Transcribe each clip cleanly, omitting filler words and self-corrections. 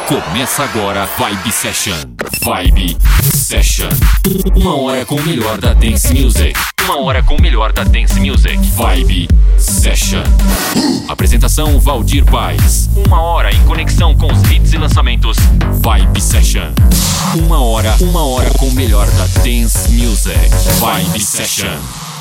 Começa agora Vibe Session. Vibe Session. 1 hora com o melhor da Dance Music. 1 hora com o melhor da Dance Music. Vibe Session. Apresentação Valdir Paes. 1 hora em conexão com os hits e lançamentos. Vibe Session. 1 hora com o melhor da Dance Music. Vibe Session.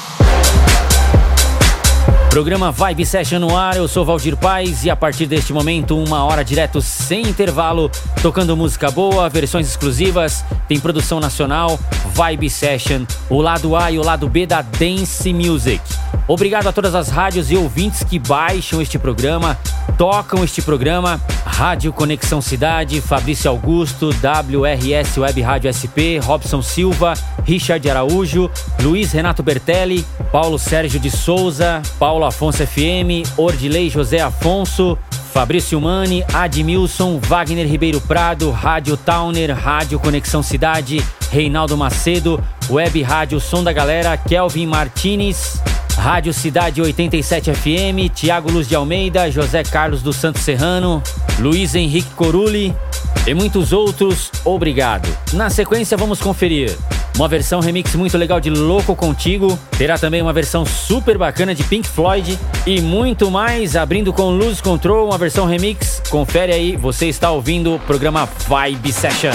Programa Vibe Session no ar, eu sou Valdir Paes e a partir deste momento 1 hora direto sem intervalo, tocando música boa, versões exclusivas, tem produção nacional, Vibe Session, o lado A e o lado B da Dance Music. Obrigado a todas as rádios e ouvintes que baixam este programa, tocam este programa, Rádio Conexão Cidade, Fabrício Augusto, WRS Web Rádio SP, Robson Silva, Richard Araújo, Luiz Renato Bertelli, Paulo Sérgio de Souza, Paulo Afonso FM, Ordilei José Afonso, Fabrício Mani, Admilson, Wagner Ribeiro Prado, Rádio Towner, Rádio Conexão Cidade, Reinaldo Macedo, Web Rádio Som da Galera, Kelvin Martinez, Rádio Cidade 87 FM, Tiago Luz de Almeida, José Carlos dos Santos Serrano, Luiz Henrique Corulli e muitos outros, obrigado. Na sequência vamos conferir uma versão remix muito legal de Louco Contigo, terá também uma versão super bacana de Pink Floyd e muito mais, abrindo com Lose Control, uma versão remix. Confere aí, você está ouvindo o programa Vibe Session.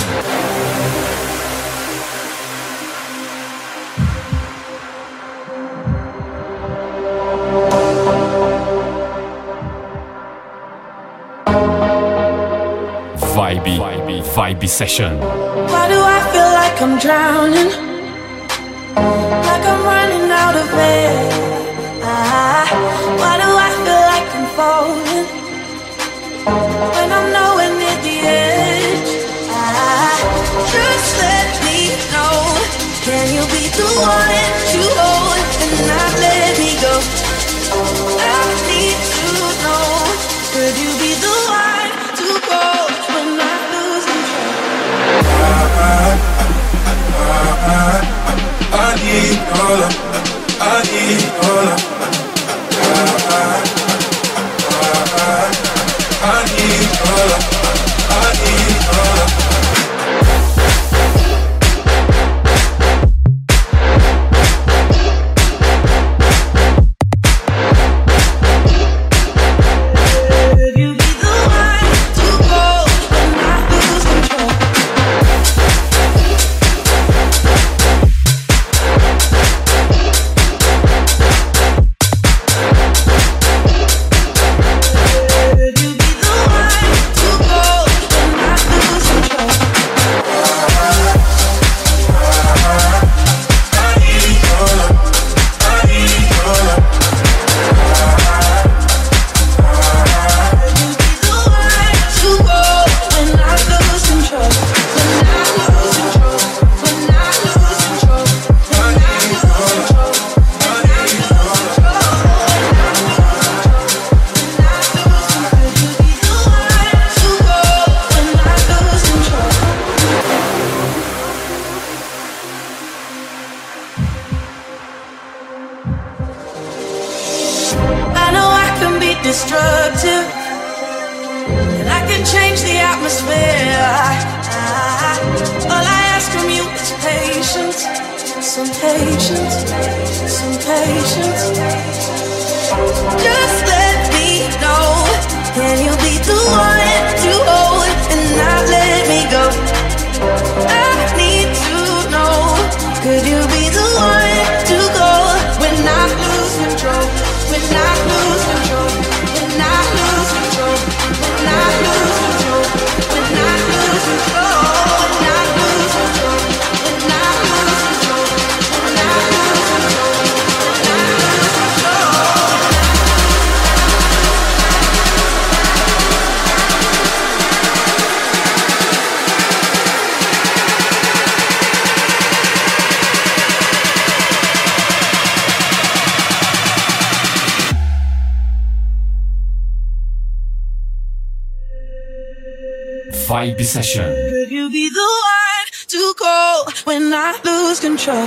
Vibe Session. Why do I feel like I'm drowning? Like I'm running out of air. Why do I feel like I'm falling when I'm nowhere near the edge? Just let me know. Can you be the one to hold and not let me go? I need to know. Could you be the one to go when I lose control? I need your love. I need your love. I need your love. I need your love. Destructive, and I can change the atmosphere. All I ask from you is patience, some patience, some patience. Just let me know. Can you be the one to hold and not let me go? I need to know. Could you be the one to go when I lose control? When I lose control? When I lose control, when I lose control, when I lose control, when I lose control, when I lose control, when I lose control, when I lose control. Vibe Session. Could you be the one to go when I lose control?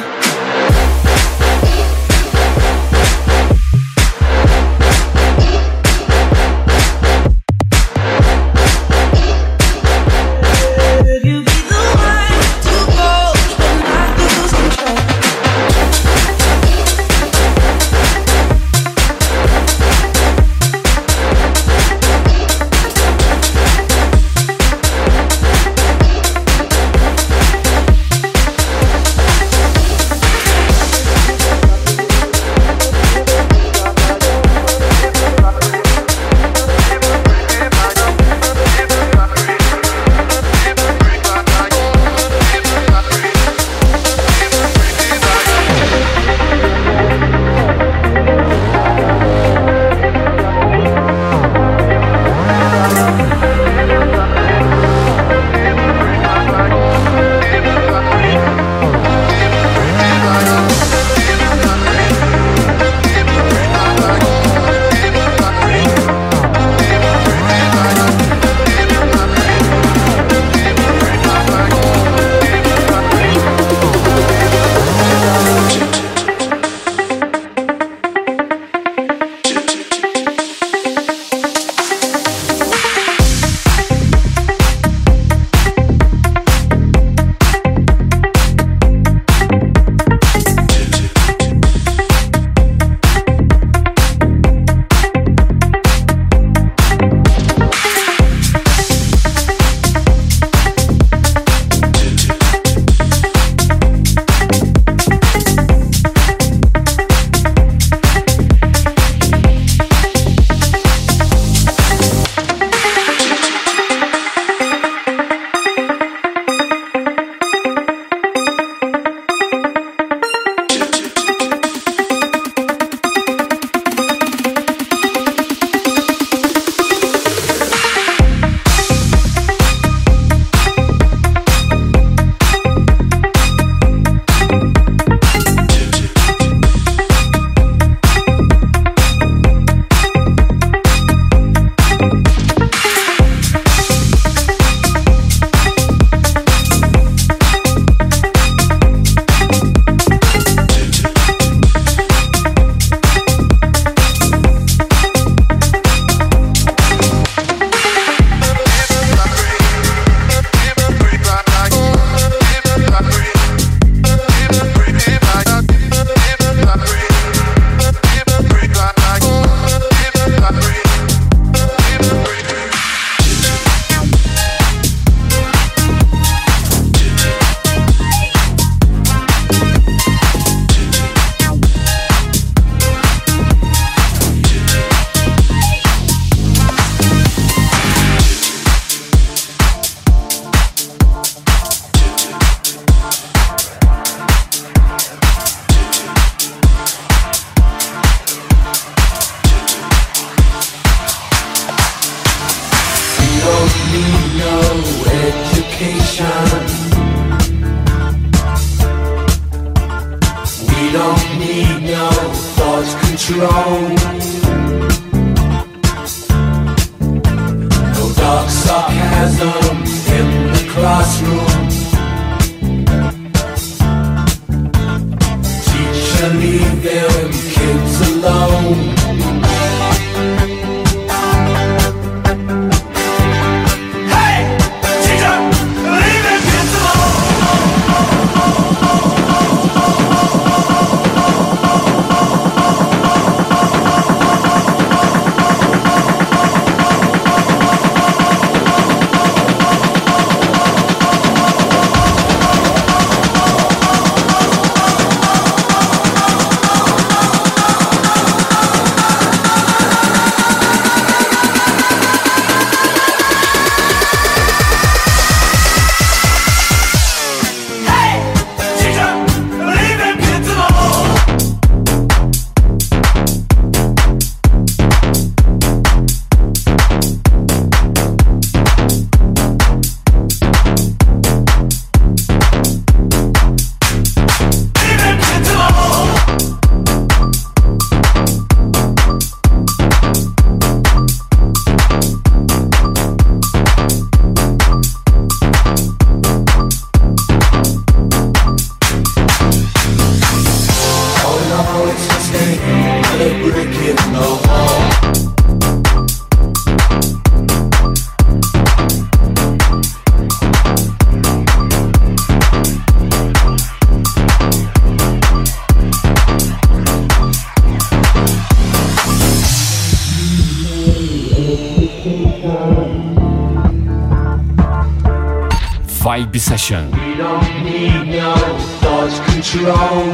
Vibe Session. We don't need no thought control.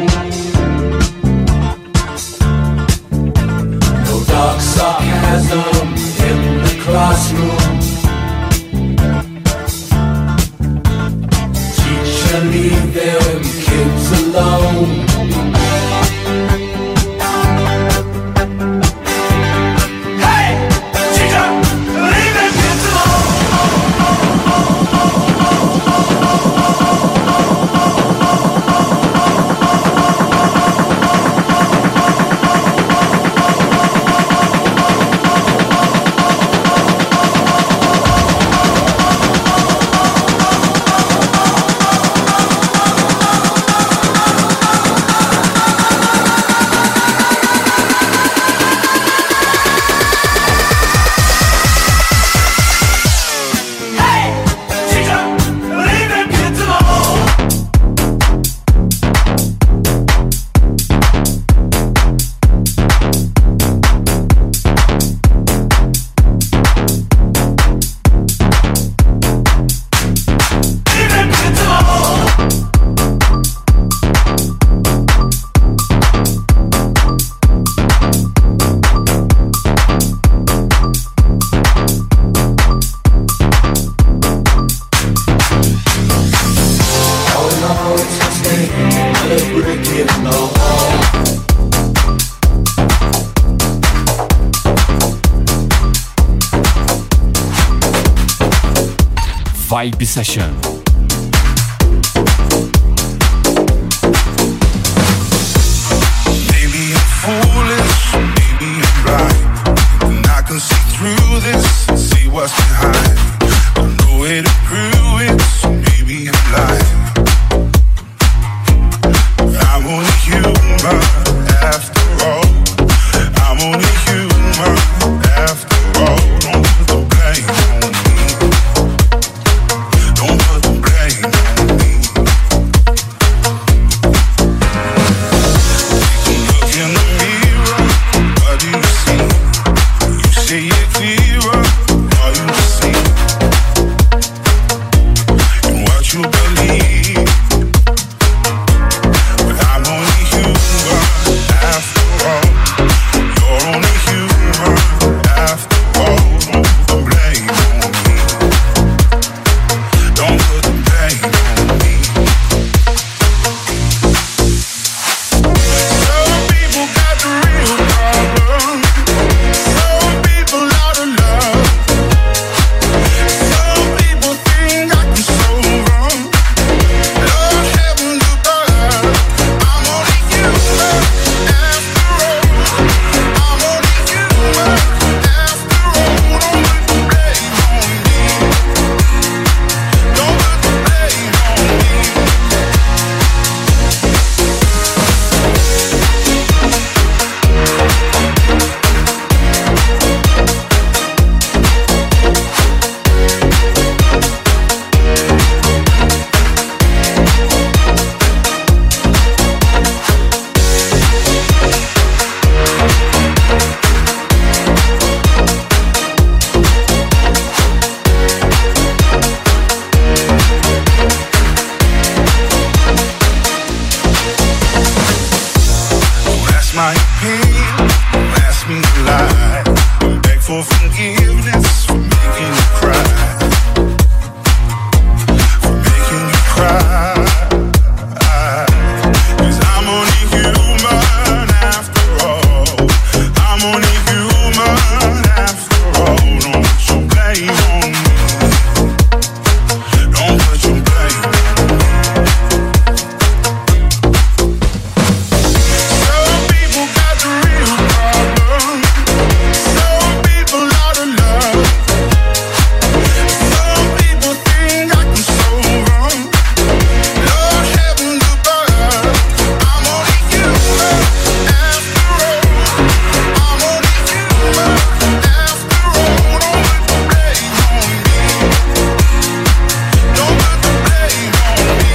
No dark sarcasm in the classroom. Teacher, leave them kids alone. Vibe Session. Maybe I'm foolish, maybe I'm right, and I can see through this. what's behind. No way to prove it, so maybe I'm lying. I'm only human after all. I'm only human after all. Don't put the blame on me. Don't put the blame on me. You can look in the mirror. What do you see? You say it clearer. All you see and what you believe. But I'm only human after all. You're only human after all. Don't put the blame on me. Don't put the blame on me. Some people got the real problem. Some people out of love. Some people think I can solve them. Lord heaven above. I'm only human after all. I'm only human after all. Don't put the blame on me. Don't put the blame on me. Don't ask my opinion, don't ask me to lie. Beg for forgiveness for making you cry. For making you cry. 'Cause I'm only human after all. I'm only human after all. Don't put your blame on me. Don't put your blame on me. Some people got the real problem. Some people out of love. Some people think I can solve them. Lord heaven above. I'm only human after all. I'm only human after all. Don't put the blame on me. Don't put the blame on me.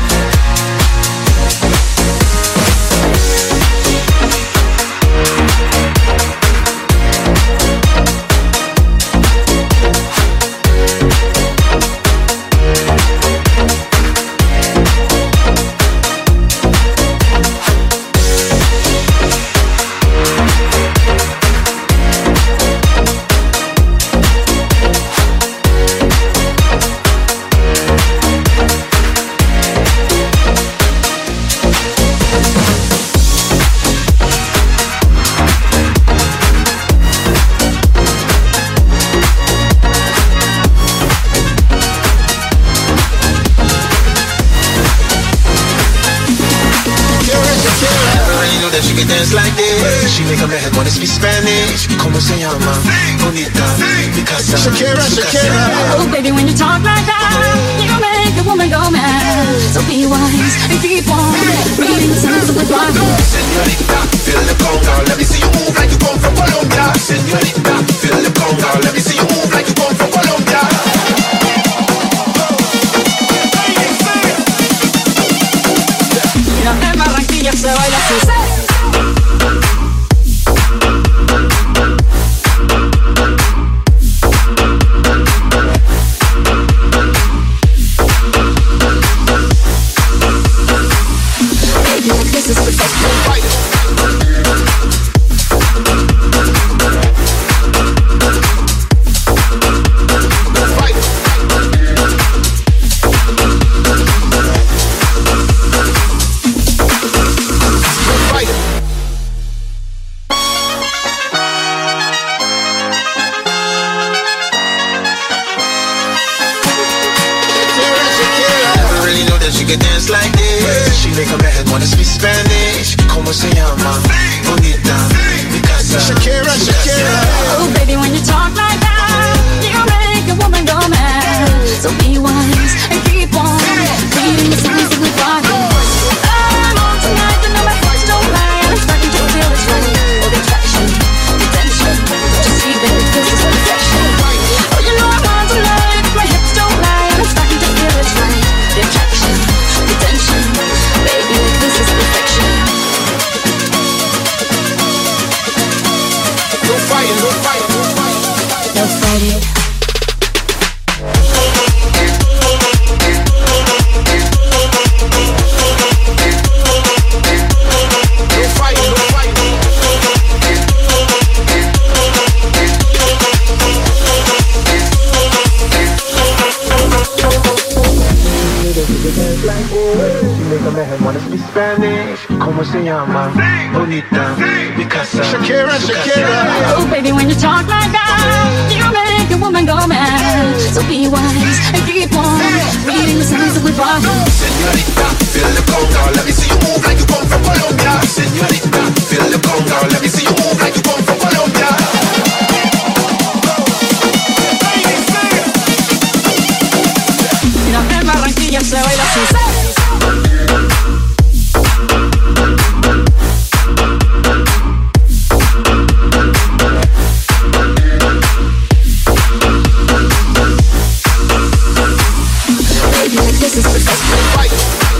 She can dance like this. She make a man wanna speak Spanish. Como se llama? Bonita. Because Shakira, Shakira. Oh, baby, when you talk like that, you make a woman go mad. So be wise and keep on reading the signs of the Bible. Señorita, feel the conga. Let me see you move like you come from Colombia. Señorita, feel the conga. Let me see you move like you come from Colombia. Mira, en Barranquilla se baila así. This is the best fight. She can dance like this. She make a man wanna speak Spanish. Como se llama? Bonita. Because Shakira, Shakira. Oh, baby, when you talk like that, you make make a man wanna speak Spanish. ¿Cómo se llama? Bonita, mi casa. Shakira, Shakira. Oh, baby, when you talk like that, you make a woman go mad. So be wise and keep on reading the signs of goodbye. Señorita, feel the conga. Let me see you move like you come from Colombia. Señorita, feel the conga. Let me see you move like you come from Colombia. Mira, en Barranquilla se baila así. This is the best fight.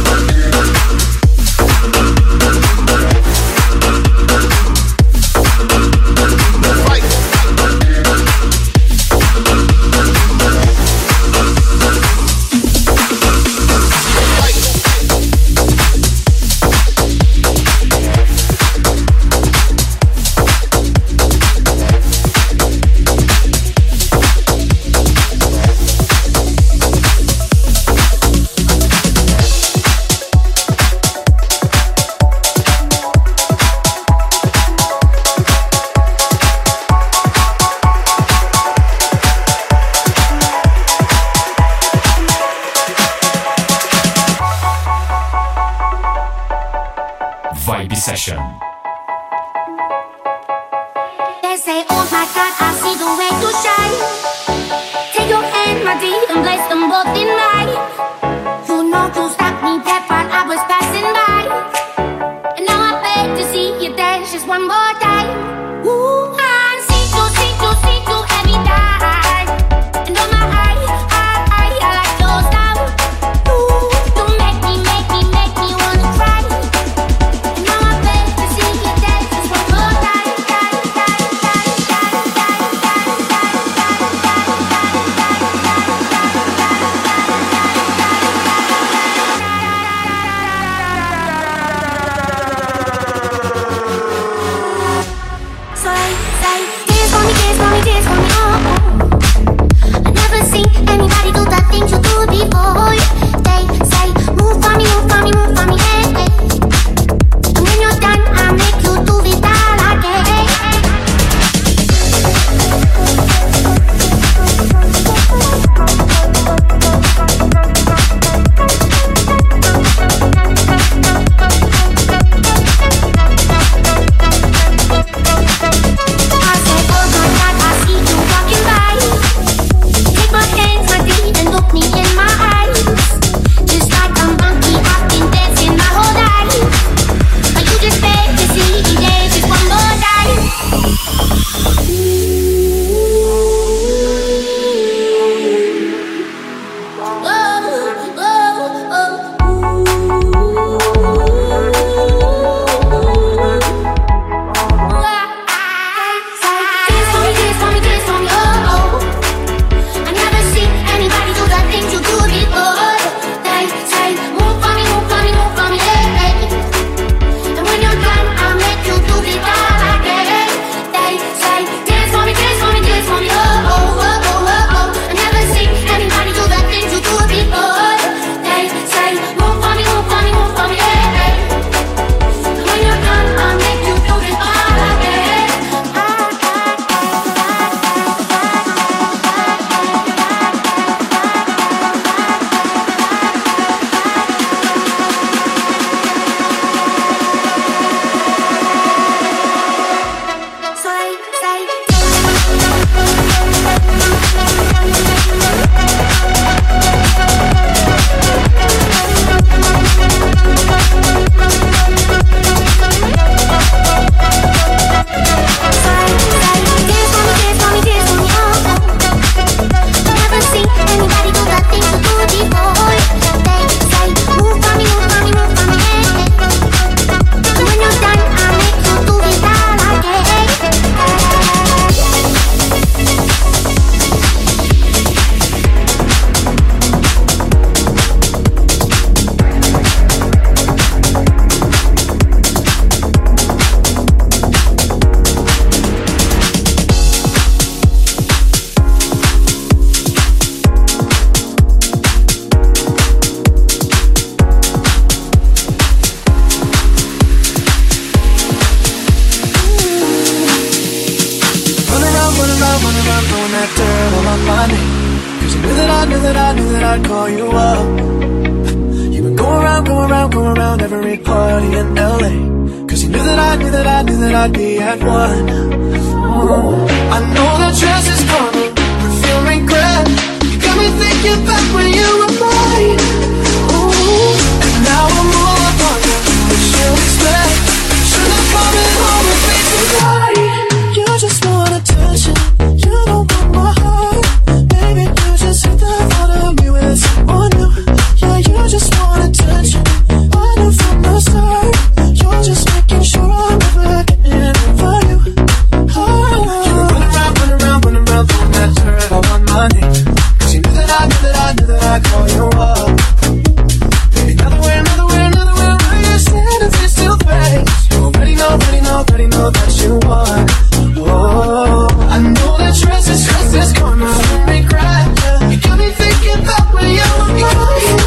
Cause you knew that I'd call you up. You've been going around every party in LA. Cause you knew that I'd be at one. I know that dress is karma, perfume regret. You got me thinking back when you were mine. Ooh. And now I'm all up on you, what you expect. Should have come home with me tonight. You just want attention, you don't want my heart. Baby, you just hit the thought of me with someone new. Yeah, you just want attention, I knew from the start. You're just making sure I'm never getting over you. You were running around, throwing that dirt all on my name. Cause you knew that I'd call you up. Baby, another way, where you stand and face to face. You already know that you won. Whoa, I know that stress is karma, don't regret. You got me thinking about when you were mine.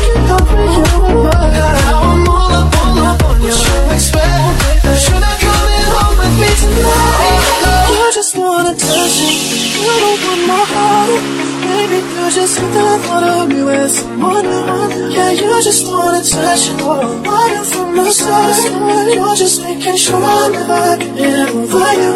Now I'm all up on you. What you expect? Should I come home with me tonight? You just want attention, you don't want my heart. Baby, you just hit the thought of me with someone new. Yeah, you just want attention, I knew from the start. You're just making sure I'm never getting over you.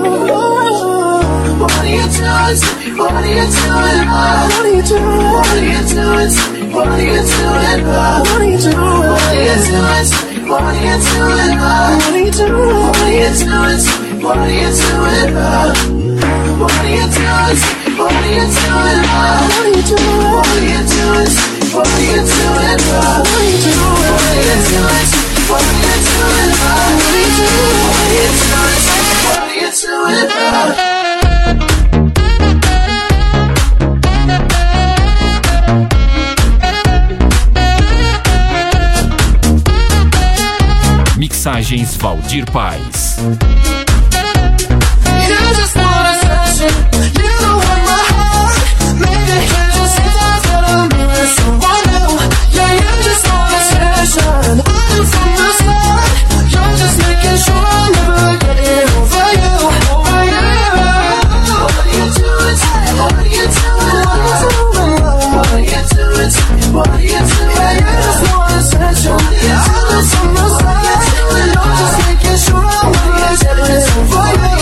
What are you doing to me? What are you doing? What are you doing? What are you doing to me? What are you doing? What are you doing? What are you doing to me? What are you doing? What are you doing? What are you doing to me? What are you doing? What are you doing to me? What are you doing? What are you doing? What are you doing to me? What are you doing? What are you doing? What are you doing to me? What are you doing? What are you doing? What are you doing? What are you doing? Mixagens Valdir Paz. You just want attention, you don't want my heart. Maybe you just hit the thought of me with someone new. Yeah, you just want attention, I knew from the start. You're just making sure I'm never getting over you. Over you. What are you doing to me? What are you doing? What are you doing to me? What are you doing? Yeah, you just want attention, I knew from the start. You're just making sure I'm never getting over you.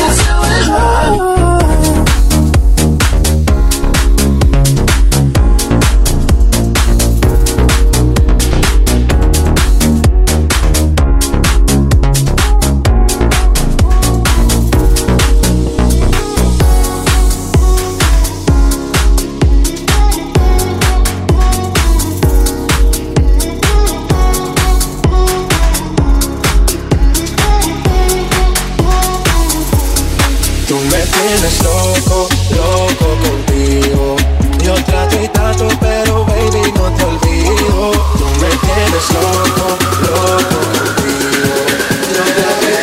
Tienes loco, loco contigo. Yo trato y trato, pero baby no te olvido. Tú me tienes loco, loco contigo. Yo trato y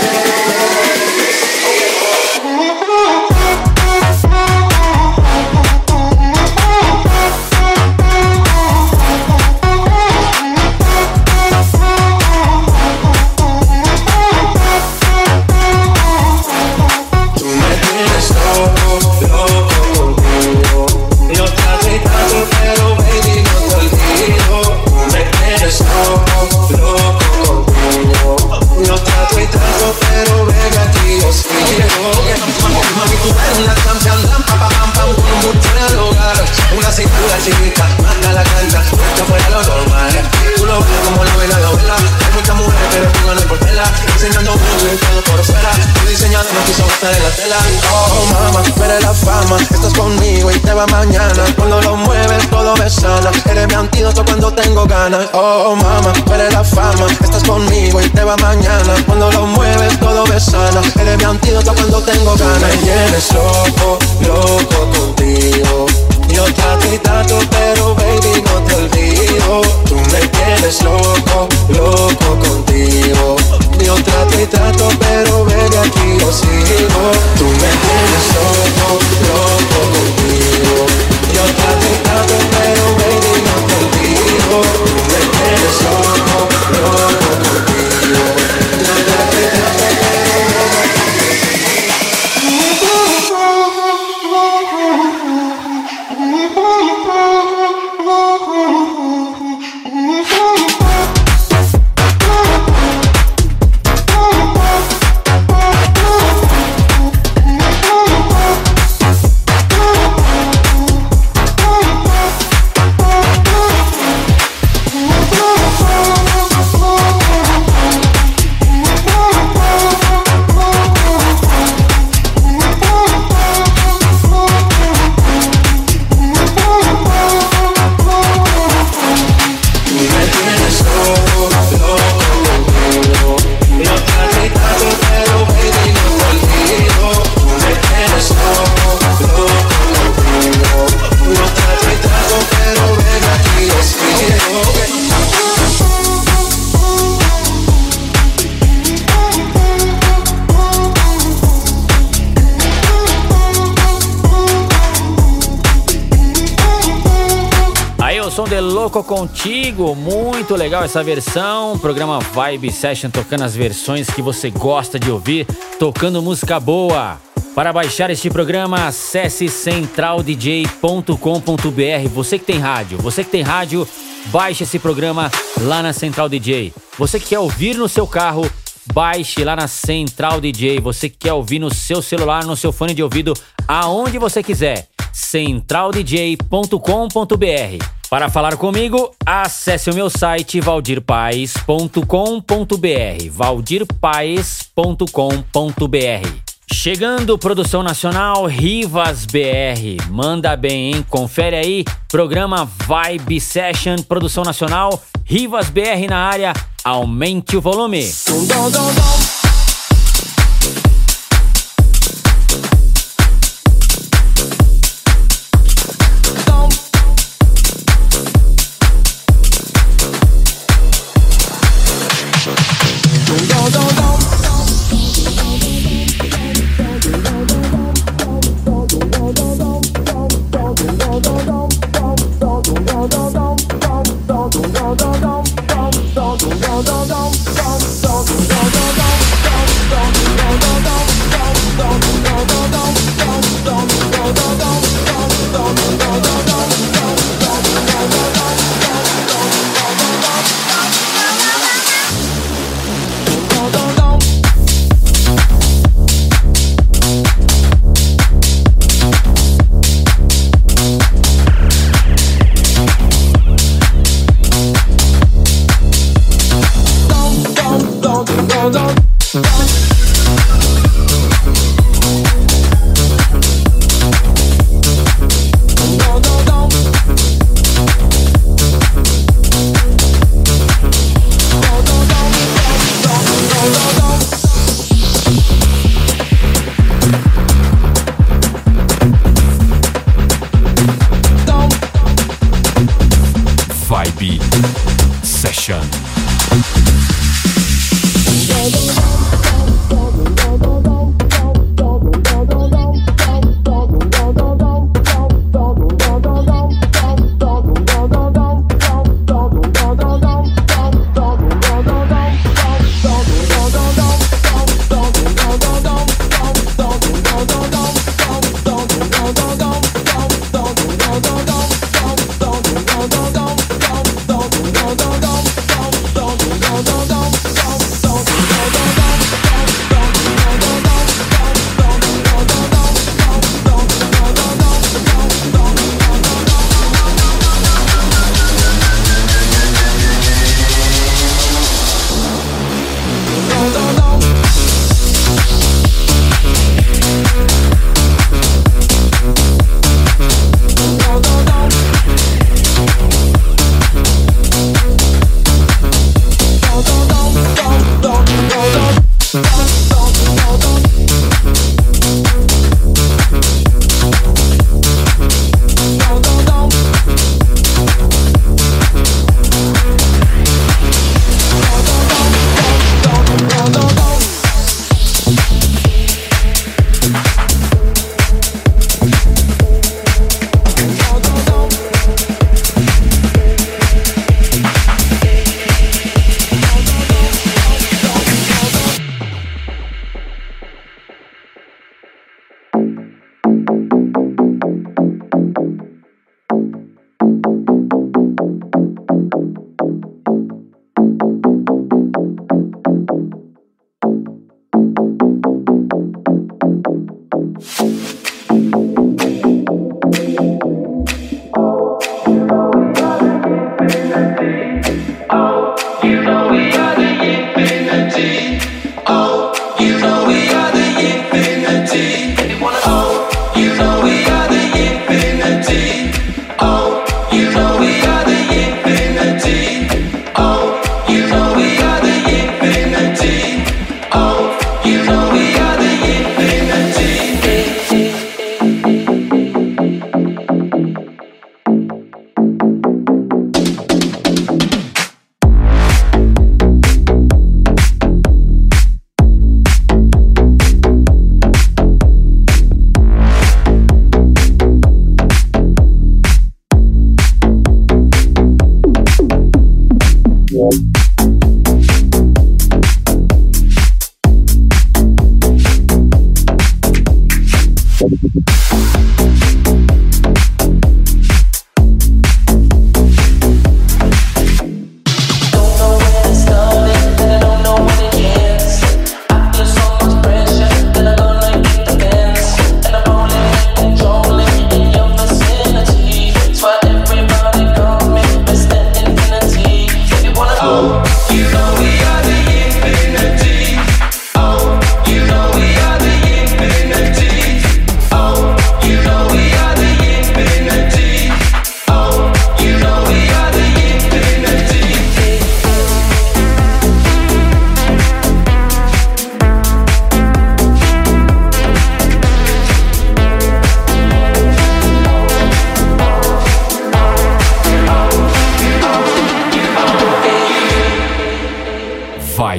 oh mama, tú eres la fama, estás conmigo y te va mañana. Cuando lo mueves todo me sana, eres mi antídoto cuando tengo ganas. Oh mama, tú eres la fama, estás conmigo y te va mañana. Cuando lo mueves todo me sana, eres mi antídoto cuando tengo ganas. Me tienes loco, loco contigo. Yo trato y trato, pero baby no te olvido. Tú me tienes loco, loco contigo. Yo trato y trato, pero baby aquí yo sigo. Tú me tienes loco, loco contigo. Yo trato y trato, pero baby no te olvido. Tú me tienes loco, loco contigo. Yo trato y trato, pero baby no te olvido. o som de Louco Contigo, muito legal essa versão. Programa Vibe Session tocando as versões que você gosta de ouvir, tocando música boa. Para baixar este programa, acesse centraldj.com.br. Você que tem rádio, baixe esse programa lá na Central DJ. Você que quer ouvir no seu carro, baixe lá na Central DJ. Você que quer ouvir no seu celular, no seu fone de ouvido, aonde você quiser. centraldj.com.br. Para falar comigo, acesse o meu site valdirpaes.com.br. valdirpaes.com.br. Chegando, produção nacional, Rivas BR. Manda bem, hein? Confere aí, programa Vibe Session, produção nacional, Rivas BR na área. Aumente o volume. Vibe Session.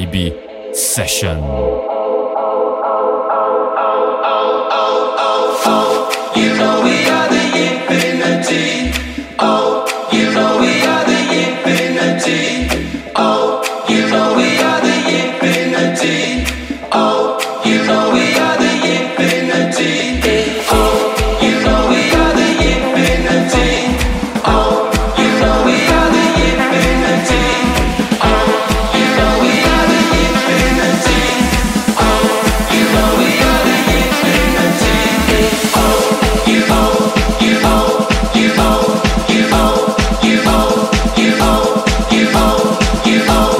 Vibe Session. You know we are the infinity. Oh, you know we are the infinity. Oh, you know we are the infinity. Oh, you know we are the infinity. Oh, you know we are the infinity. Oh, you know we are the infinity. Oh, you know we are the infinity. Oh, you know we are the infinity. Oh, you know, you know, you know, you know, you know, you know, you know, you know.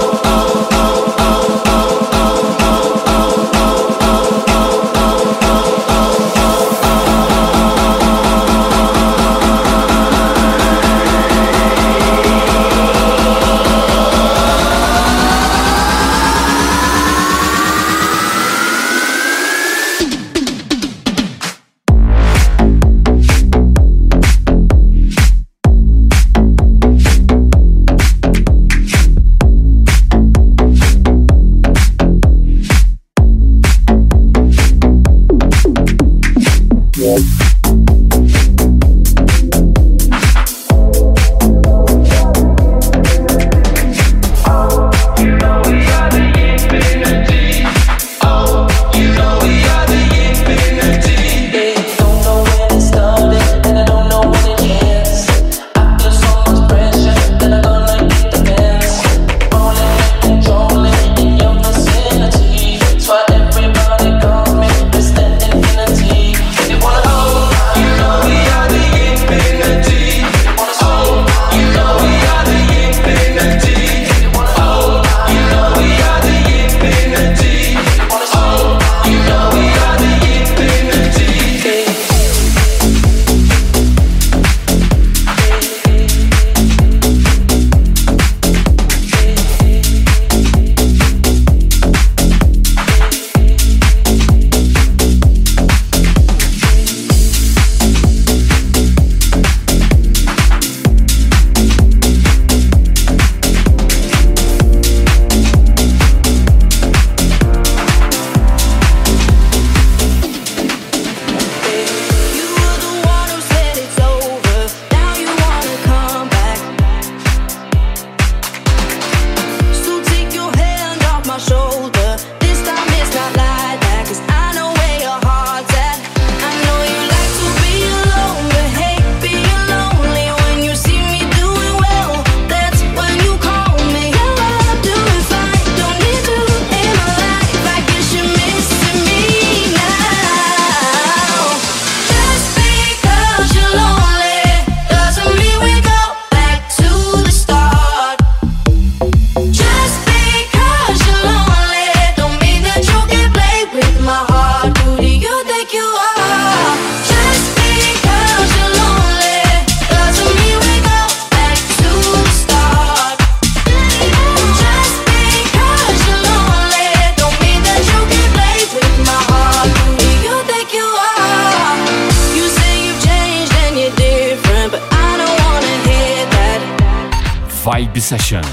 Vibe Session.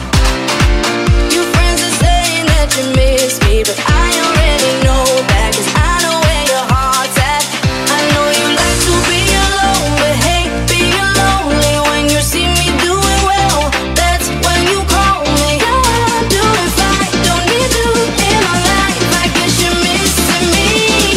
Your friends are saying that you miss me, but I already know that, 'cause I know where your heart's at. I know you like to be alone, but hey, being lonely when you see me doing well, that's when you call me. Now I'm doing fine, don't need you in my life. I guess you're missing me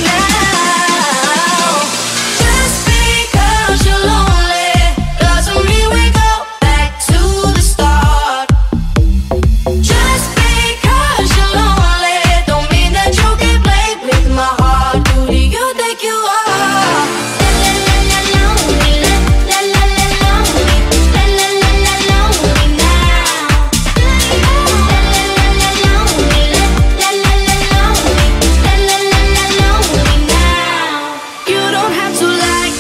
now. Just because you're lonely doesn't mean we go back to the start. Just because you're lonely don't mean that you can play with my heart. Who do you think you are? La la la la lonely, la la la la lonely, la la la la lonely now. La la la la lonely, la la la la lonely, la la la la lonely now. You don't have to like.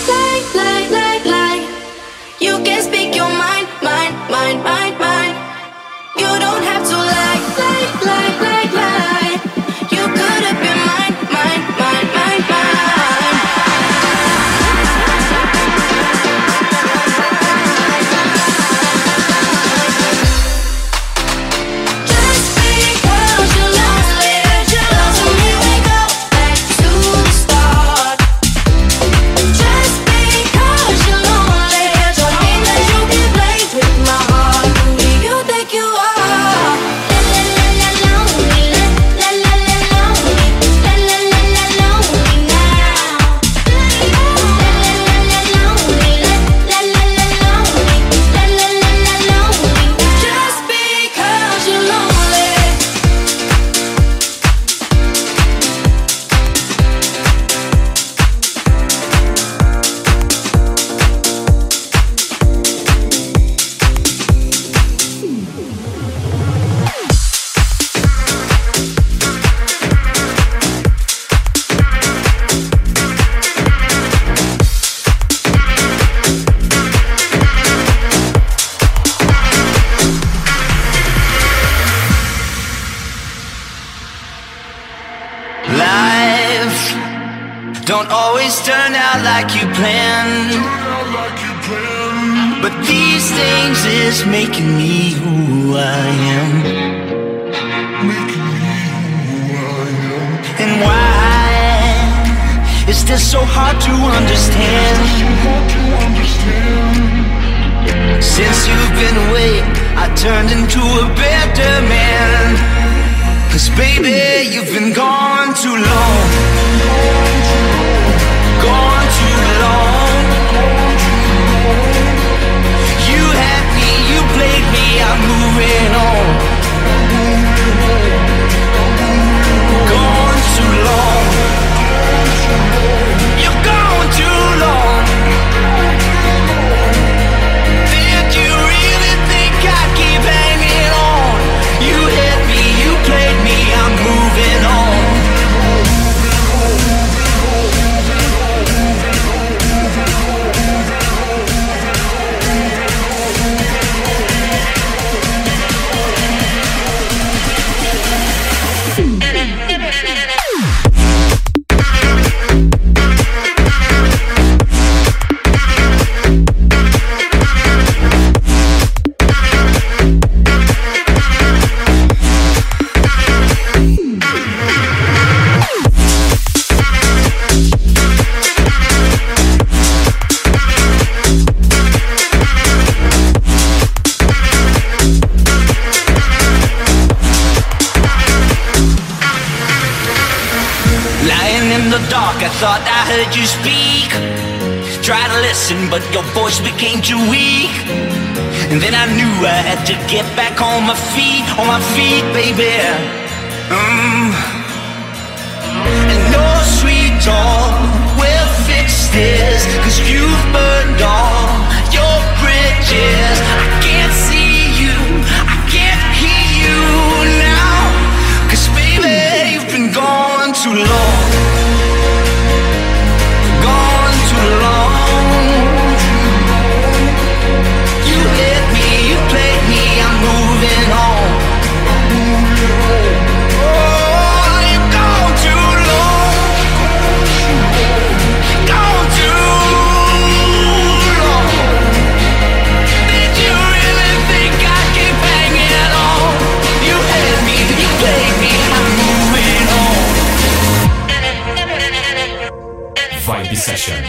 You can speak your mind. You don't have to like. You could have been mine. Just because don't always turn out like you planned. But these things is making me who I am. And why is this so hard to understand? Since you've been away, I turned into a better man. 'Cause baby, you've been gone too long. Gone too long. You had me, you played me, I'm moving on. Gone too long. You're gone too long. Did you really think I'd keep hanging on? You hit me, you played me, I'm moving on. I thought I heard you speak. Try to listen, but your voice became too weak. And then I knew I had to get back on my feet, baby. And no sweet talk will fix this, 'cause you've burned all your bridges. I can't see you, I can't hear you now, 'cause baby, you've been gone too long. Gone too long. You hit me, you played me, I'm moving on. Oh, you're gone too long. Gone too long. Did you really think I'd keep hanging on? You hit me, you played me, I'm moving on. Vibe Session.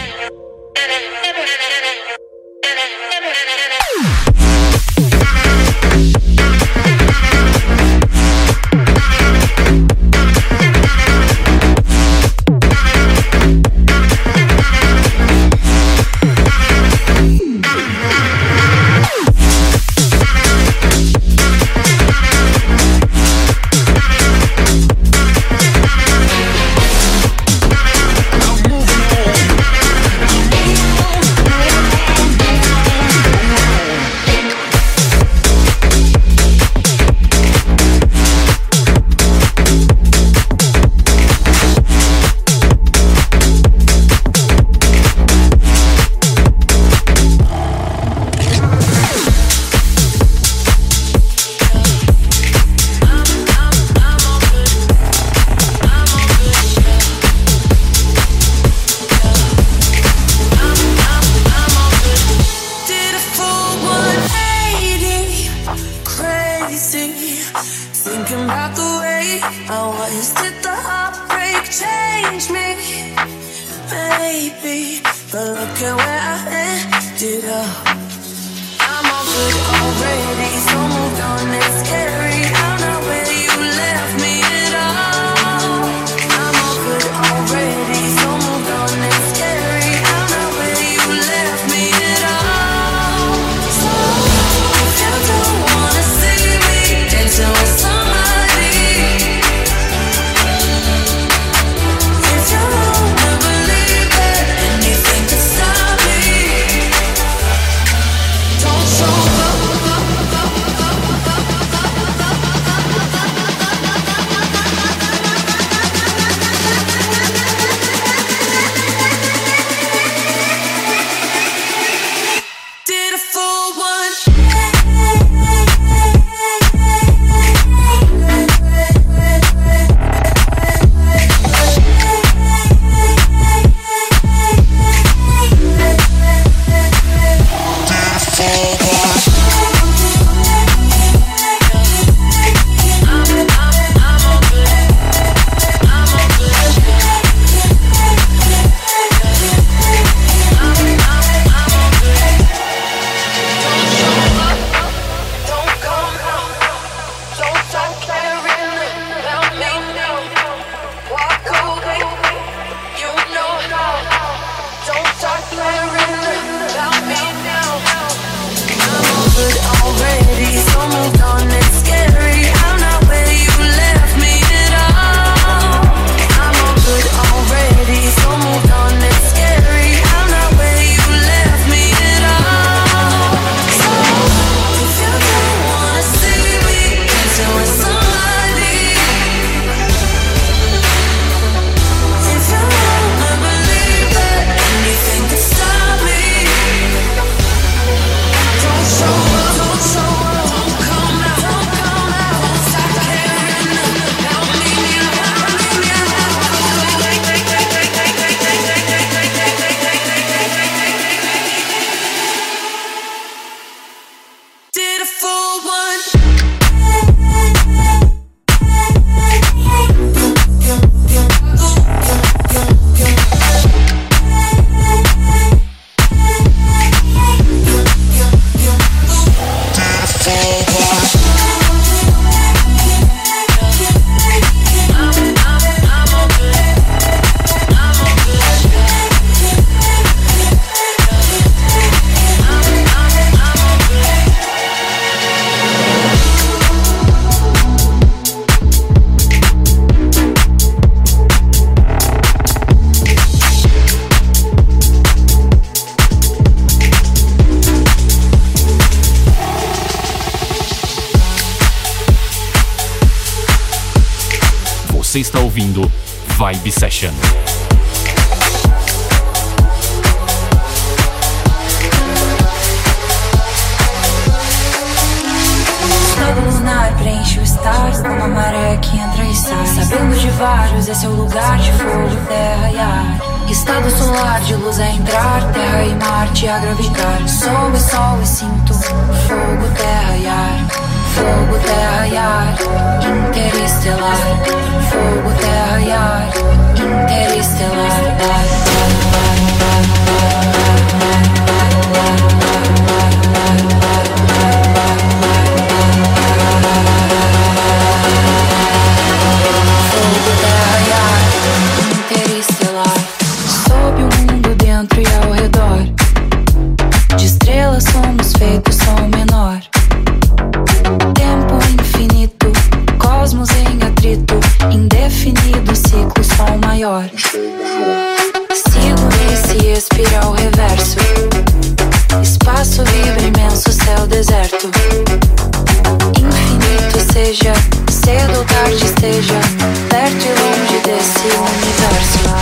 Você está ouvindo Vibe Session. Estado lunar preenche o estar como a maré que entra e sai. Sabendo de vários, esse é o lugar de fogo, terra e ar. Estado solar de luz a entrar, terra e Marte a gravitar. Sou e sol e sinto fogo, terra e ar. Fogo, terra e ar, interestelar. Fogo, terra e ar, interestelar. Fogo, terra e ar, interestelar. Sob o mundo dentro e ao redor. De estrelas somos feitos som menor. Tempo infinito, cosmos em atrito, indefinido ciclo, som maior. Sigo nesse espiral reverso. Espaço vibra imenso, céu deserto. Infinito seja, cedo ou tarde esteja, perto e longe desse universo.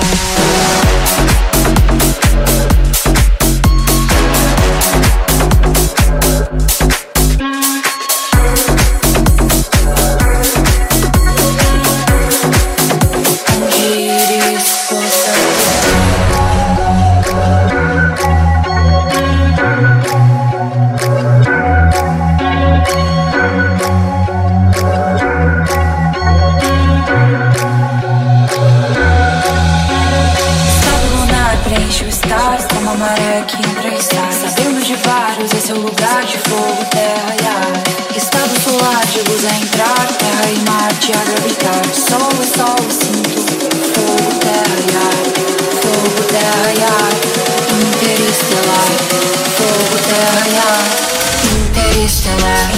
Esse é o lugar de fogo, terra e ar. Estado solar de luz a entrar, terra e Marte a gravitar. Sol e sol e sinto fogo, terra e ar. Fogo, terra e ar, interestelar. Fogo, terra e ar, interestelar.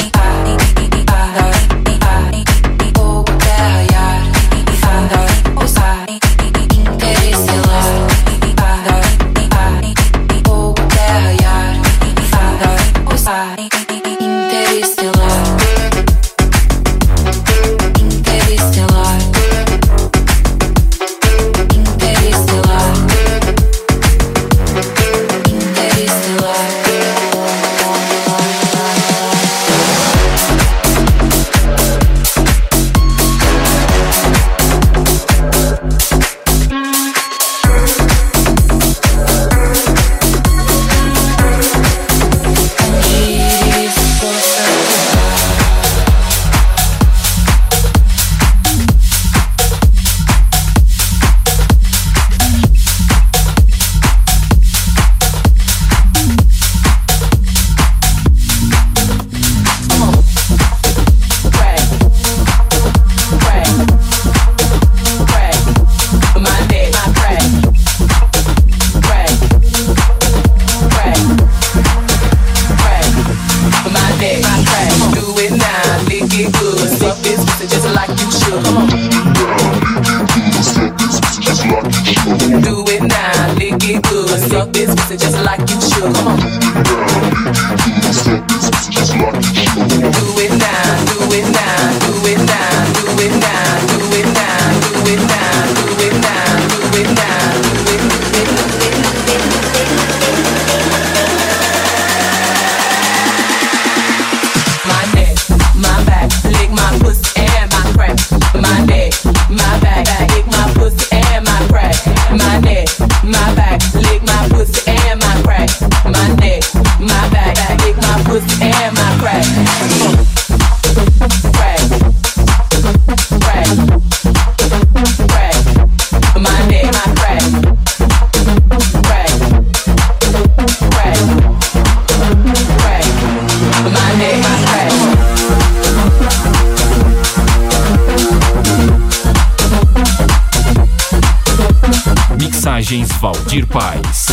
Mixagens Valdir Paz.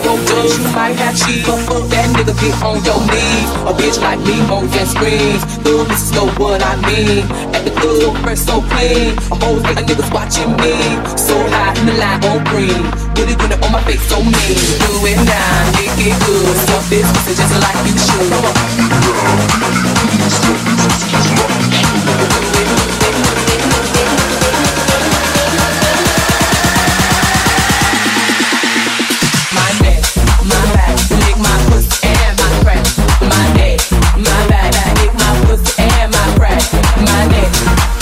go Dutch, you might have cheese. But fuck that nigga, get on your knees. A bitch like me moans and screams. Little missus know what I mean. At the club, fresh so clean. A whole lot of niggas watching me. So high in the line on green. Put it on my face so mean. Do it now, make it good. Stuff this pussy just like you should. Come on. My neck, my back, lick my pussy and my crack. My neck, my back, lick my pussy and my crack. My neck.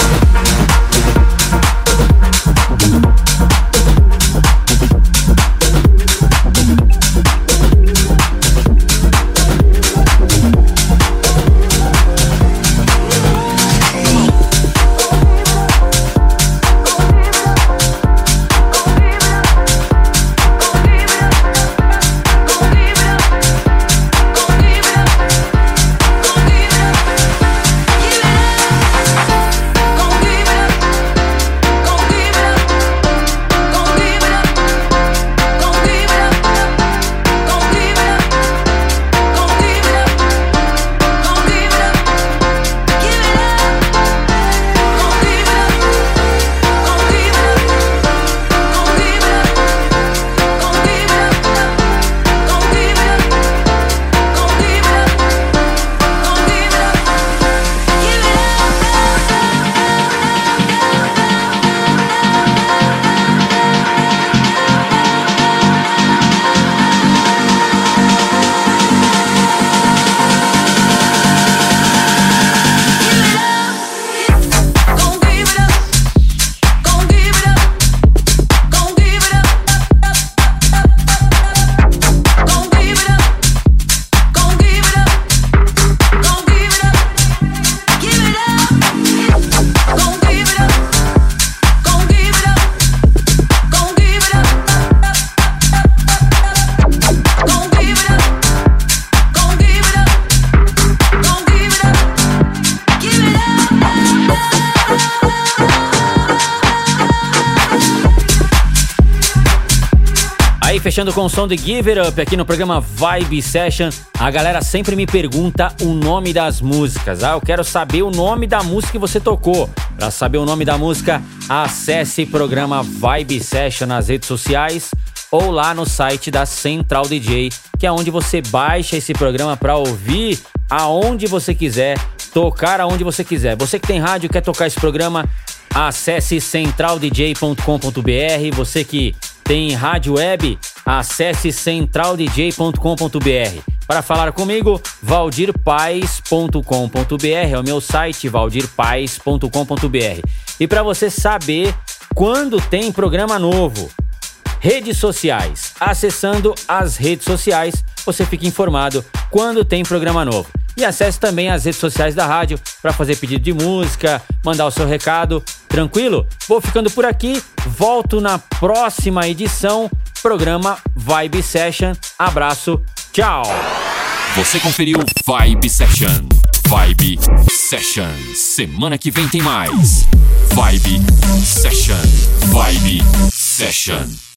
Fechando com o som de Give It Up aqui no programa Vibe Session. A galera sempre me pergunta o nome das músicas. Eu quero saber o nome da música que você tocou. Para saber o nome da música, acesse programa Vibe Session nas redes sociais ou lá no site da Central DJ, que é onde você baixa esse programa para ouvir aonde você quiser, tocar aonde você quiser. Você que tem rádio e quer tocar esse programa, acesse centraldj.com.br. Você que tem rádio web, acesse centraldj.com.br. Para falar comigo, valdirpaes.com.br, é o meu site, valdirpaes.com.br. E para você saber quando tem programa novo, redes sociais, acessando as redes sociais, você fica informado quando tem programa novo. E acesse também as redes sociais da rádio para fazer pedido de música, mandar o seu recado, tranquilo? Vou ficando por aqui, volto na próxima edição, programa Vibe Session. Abraço, tchau! Você conferiu Vibe Session. Vibe Session. Semana que vem tem mais. Vibe Session. Vibe Session.